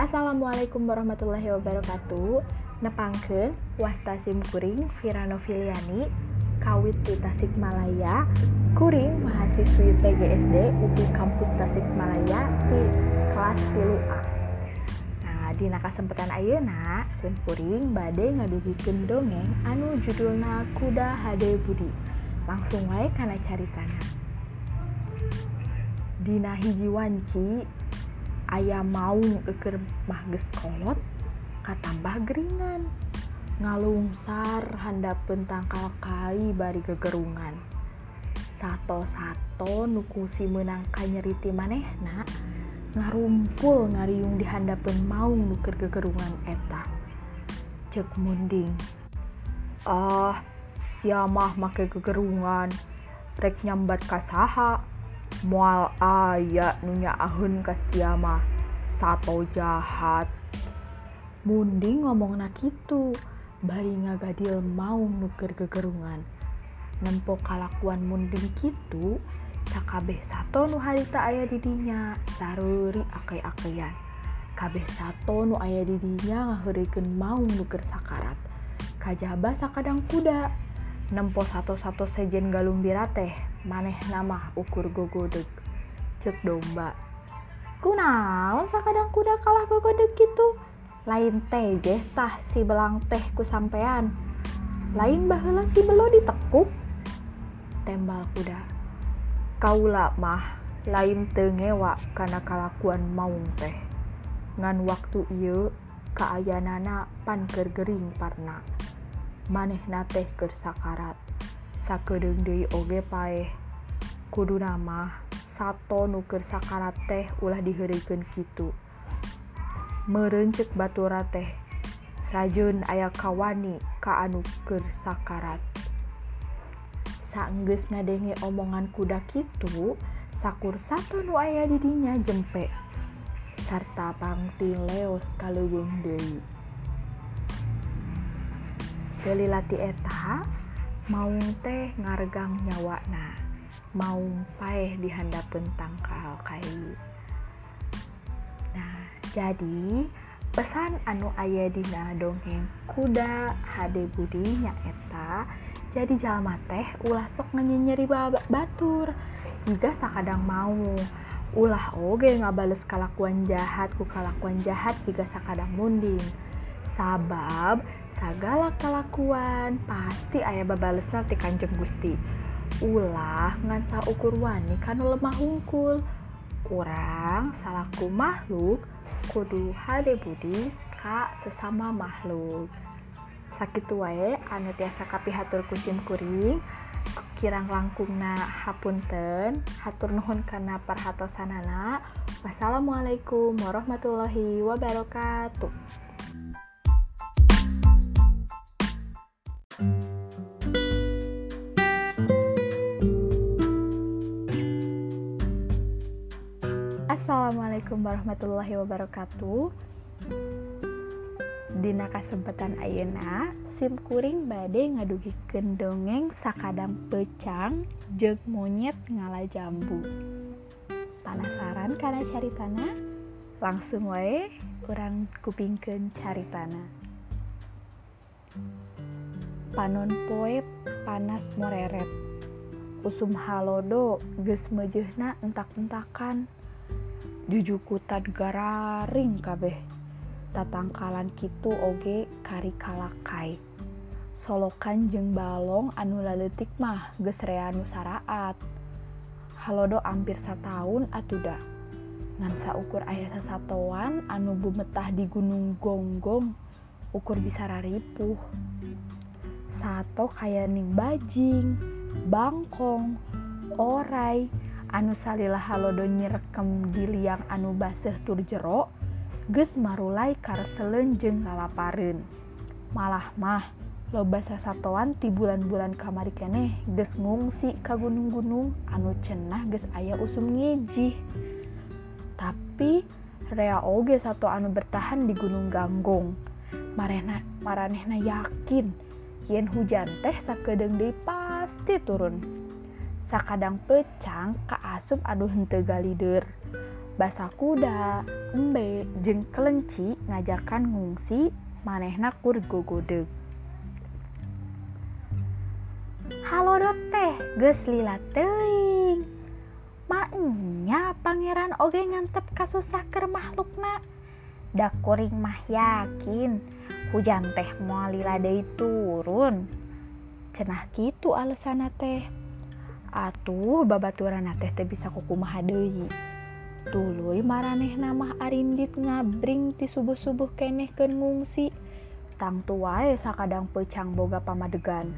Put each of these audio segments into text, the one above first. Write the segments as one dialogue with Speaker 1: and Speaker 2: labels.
Speaker 1: Assalamualaikum warahmatullahi wabarakatuh. Nepangkeun wasta simkuring Viranofiliani kawit di Tasikmalaya, kuring mahasiswi PGSD UPI Kampus Tasikmalaya di kelas 3A. Nah, dina kasempatan ayeuna simkuring bade ngadugikeun dongeng anu judulna Kuda Hade Budi. Langsung wae kana caritana. Dina hiji wanci aya maung eukeur mah geus kolot katambah geringan ngalungsar handapeun tangkal kai bari gegerungan sato-sato nu kungsi meunang kanyeri ti manehna ngarumpul ngariung di handapeun maung nu keur gegerungan eta ceuk munding sia mah make gegerungan rek nyambat ka saha moal aya nu nyaaheun ka sia mah sato jahat. Munding ngomongna kitu bari ngagadil maung nu keur gegerungan. Nempo kalakuan munding kitu sakabeh sato nu harita aya di dinya sareuri akei-akeyan. Kabeh sato nu aya di dinya ngaheurikeun maung nu keur sakarat. Kajaba sakadang kuda. Nempo sato-sato sejen galumbira teh manehna mah ukur gogodeg ceuk domba. Kunaon sakadang kuda kalah gogodeg kitu? Lain teh jeh tah si belang teh ku sampean. Lain baheula si belo ditekuk. Tembal kuda. Kaula mah lain teu ngewa kana kalakuan maung teh. Ngan waktu ieu kaayanana pan keur gering parna. Manehna teh keur sakarat. Sakedeung deui oge paeh. Kuduna mah sato nu keur sakarat teh ulah diheureukeun kitu. Meureun ceuk batura teh. Rajeun aya kawani ka anu keur sakarat. Saenggeus ngadenge omongan kuda kitu, sakur sato nu aya di dinya jempe. Sarta pangting leos ka leuweung deui. Gelilati eta, maung teh ngaregang nyawana. Maung paeh di handapeun tangkal kai. Nah, jadi pesan anu aya dina dongeng Kuda Hade Budi nyaeta, jadi jalma teh ulah sok nganyenyeri batur jiga sakadang maung. Ulah oge ngabales kalakuan jahat ku kalakuan jahat jiga sakadang munding. Sabab sagala kalakuan pasti aya babalesna ti Kanjeng Gusti. Ulah ngan saukur wani kanu lemah hungkul. Urang salaku makhluk kudu hade budi ka sesama makhluk. Sakitu wae anu tiasa kapihatur ku simkuring. Kirang langkungna hapunten. Hatur nuhun kana parhatosanana. Wassalamualaikum warahmatullahi wabarakatuh. Assalamualaikum warahmatullahi wabarakatuh. Dina kasempatan ayeuna simkuring bade ngadugikeun dongeng sakadang peucang jeung monyet ngala jambu. Panasaran kana caritana? Langsung wae urang kupingkeun caritana. Panon poe panas moreret. Usum halodo geus meujeuhna entak-entakan. Jujukutad gararing kabeh. Tatangkalan kitu oge kari kalakai. Solokan jeung balong anu laleutik mah geus rea nu saraat. Halodo ampir sataun atuda. Ngan saukur aya sasatoan anu bumetah di Gunung Gonggong ukur bisa raripuh. Sato kayaning bajing, bangkong, oray anu salila halodo nyirekem di liang anu baseuh tur jero geus marulai kareseleun jeung lalapareun. Malah mah loba sasatoan ti bulan-bulan kamari keneh geus ngungsi ka gunung-gunung anu cenah geus aya usum ngijih. Tapi rea oge sato anu bertahan di Gunung Ganggong. Maranehna yakin yen hujan teh sakedeung deui pasti turun. Sakadang peucang kaasup anu henteu galideur. basa kuda, embe, jeung kelenci ngajakan ngungsi manehna kur gogodeg. Halodot teh geus lila teuing. Maenya pangeran oge ngantep kasusah keur makhlukna. Da kuring mah yakin hujan teh moal lila deui turun. Cenah kitu alesanna teh. Atuh babaturanna teh teu bisa kukumaha deui. Tuluy maranehna mah arindit ngabring ti subuh-subuh keneh keun ngungsi. Tangtu wae sakadang peucang boga pamadegan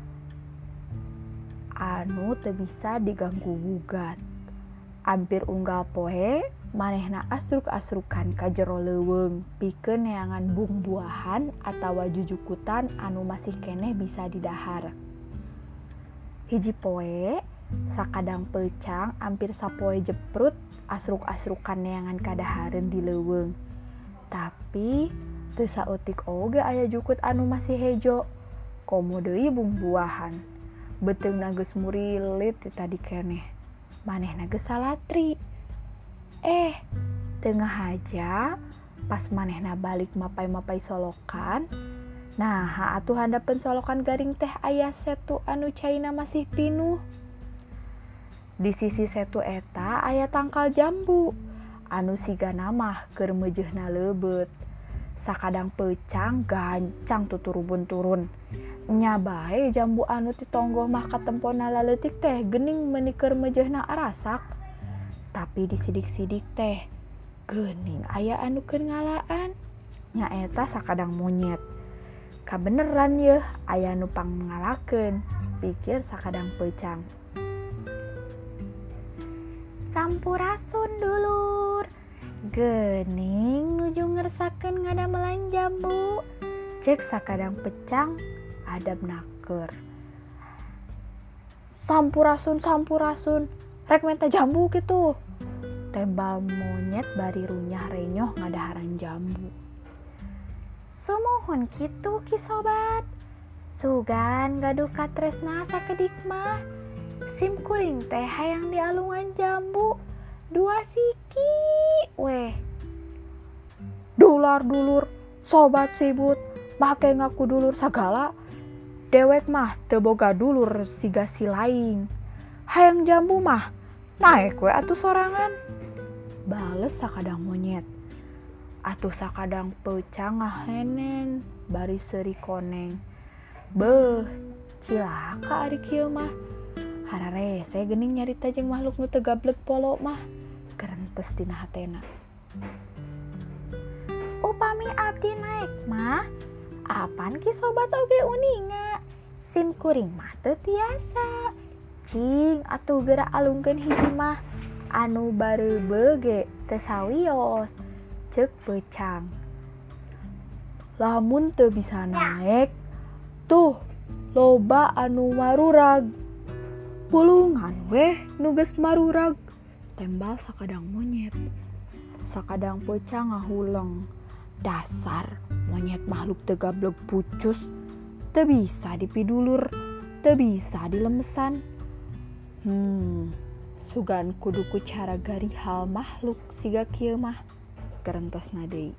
Speaker 1: anu teu bisa diganggu gugat. Ampir unggal poe manehna asruk-asrukan ka jero leuweung pikeun neangan buah-buahan atawa jujukutan anu masih keneh bisa didahar. Hiji poe sakadang peucang ampir sapoe jeprut asruk-asrukan neangan kadahareun di leuweung. Tapi teu saeutik oge aya jukut anu masih hejo. Komo deui buah-buahan. Beteungna geus murilit ti tadi keneh. Manehna geus salatri. Tengah haja pas manehna balik mapai-mapai solokan. Nah, atuh handapeun solokan garing teh aya setu anu caina masih pinuh. Di sisi setu eta aya tangkal jambu anu sigana mah keur meujeuhna leubeut. Sakadang peucang gancang tuturubun turun. Nya bae jambu anu ti tonggoh mah katemponna laleutik teh geuning meuni keur meujeuhna arasak. Tapi disidik-sidik teh geuning aya anu keur ngalaan. Nya eta sakadang monyet. Kabeneran yeuh aya nu pangngalakeun, pikir sakadang peucang. Sampurasun dulur, geuning nuju ngersakeun ngadamelan jambu, ceuk sakadang peucang adab naker. Sampurasun, rek menta jambu kitu. Tembal monyet bari runyah renyoh ngadaharan jambu. Sumuhun kitu ki sobat. Sugan gaduh katresna sakedik mah. Sim kuring teh hayang dialungan jambu 2 siki weh. Dular dulur, sobat sibut, make ngaku dulur sagala. Dewek mah teu boga dulur siga si laing. Hayang jambu mah naek we atuh sorangan. Bales sakadang monyet. Atuh sakadang peucang ngahenen bari seuri koneng. Beuh, cilaka ari kieu mah. Hararese geuning nyarita jeung makhluk nu teu gablek polo mah. Gerentes dina hatena. Upami abdi naek mah, apan ki sobat oge uninga. Sim kuring mah teu tiasa. Cing atuh geura alungkeun hiji mah anu bareubeu ge teu sawios. Ceuk peucang. Lamun teu bisa naek, tuh loba anu marurag. Pulungan weh nu geus marurag, tembal sakadang monyet. Sakadang peucang ngahuleng. Dasar monyet makhluk teu gablek pucus, teu bisa dipidulur, teu bisa dilemesan. Sugan kudu ku cara garihal makhluk siga kieu mah. Gerentosna deui.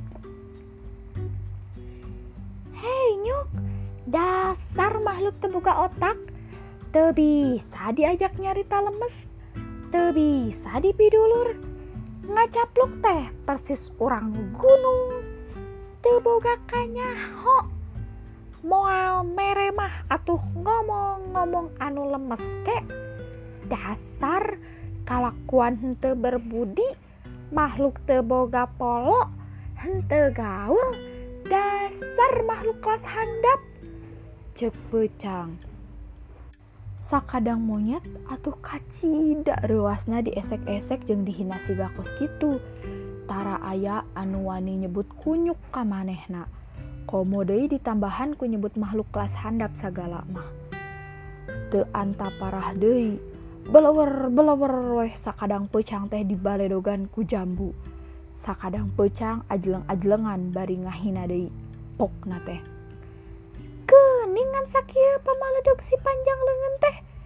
Speaker 1: Hei nyuk, dasar makhluk teu boga otak, teu bisa diajak nyarita lemes, teu bisa dipidulur. Ngacapluk teh persis urang gunung, teu boga kanyaho. Moal mere mah atuh ngomong-ngomong anu lemes ke. Dasar kalakuan henteu berbudi, makhluk teu boga polo, henteu gaul, dasar makhluk kelas handap. Ceuk peucang. Sakadang monyet atuh kacida reuasna diesek-esek jeung dihina siga kos kitu. Tara aya anu wani nyebut kunyuk ka manehna. Komo deui ditambahan ku nyebut makhluk kelas handap sagala mah. Teu anta parah deui. Belewer weh sakadang peucang teh dibaledogan ku jambu. Sakadang peucang ajleng-ajlengan bari ngahina deui. Pokna teh. Geuningan sakieu pamaledog si panjang leungeun teh.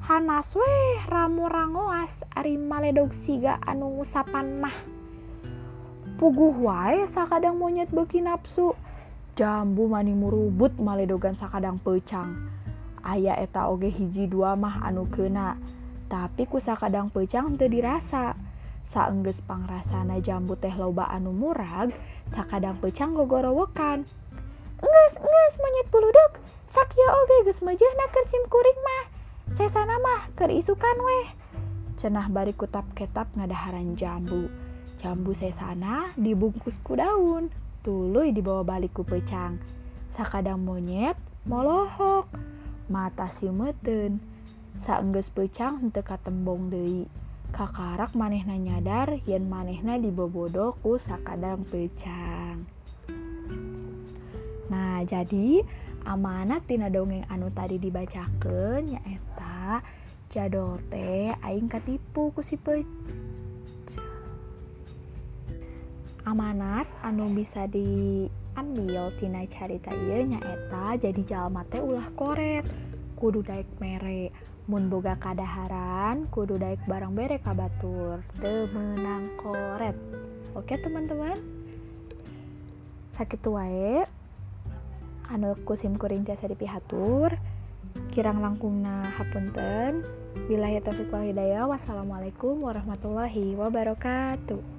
Speaker 1: Hanas weh ramu rangoas ari maledog siga anu ngusapan mah. Puguh wae sakadang monyet beuki nafsu. Jambu mani murubut maledogan sakadang peucang. Aya eta oge hiji dua mah anu keuna, tapi ku sakadang peucang teu dirasa. Saenggeus pangrasana jambu teh loba anu murag, sakadang peucang gogorowokan. Enggeus monyet buludug, sakieu oge geus meujeuhna keur sim kuring mah. Sesana mah keur isukan weh. Cenah bari kutap-ketap ngadaharan jambu. Jambu sesana dibungkus ku daun, tuluy dibawa balik ku peucang. Sakadang monyet molohok, mata sieumeteun. Saenggeus peucang henteu katembong deui. Kakarak manehna nyadar yen manehna dibobodo ku sakadang peucang. Nah, jadi amanat tina dongeng anu tadi dibacakeun nyaeta jadol teh aing katipu ku si peucang. Amanat anu bisa diambil tina carita ieu nyaeta jadi jalma teh ulah koret, kudu daek mere. Mun boga kadaharan kudu daek barang bere ka batur, teu meunang koret. Oke teman-teman, sakitu wae anu kusim kuring tiasa dipihatur. Kirang langkungna hapunten. Billahi taufiq wal hidayah. Wassalamualaikum warahmatullahi wabarakatuh.